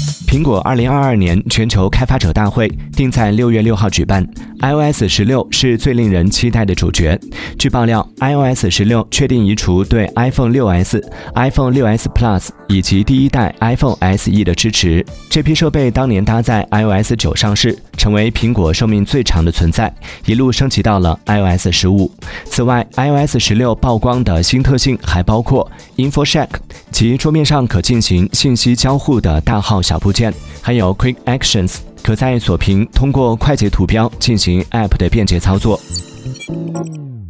苹果2022年全球开发者大会定在6月6号举办 ，iOS 16是最令人期待的主角。据爆料 ，iOS 16确定移除对 iPhone 6s、iPhone 6s Plus 以及第一代 iPhone SE 的支持。这批设备当年搭载 iOS 9上市，成为苹果寿命最长的存在，一路升级到了 iOS 15。此外 ，iOS 16曝光的新特性还包括 InfoShack 即桌面上可进行信息交互的大号小部件。还有 Quick Actions， 可在锁屏通过快捷图标进行 App 的便捷操作。